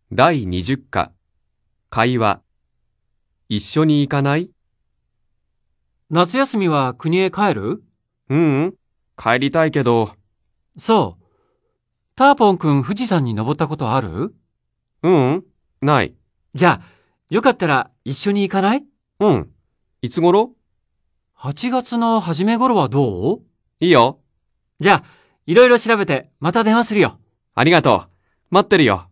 第20課、会話。一緒に行かない？ 夏休みは国へ帰る？ ううん、帰りたいけど。 そう。ターポンくん富士山に登ったことある？ ううん、ない。 じゃあ、よかったら一緒に行かない？ うん。いつ頃？ 8月の初め頃はどう？ いいよ。 じゃあ、いろいろ調べてまた電話するよ。 ありがとう。待ってるよ。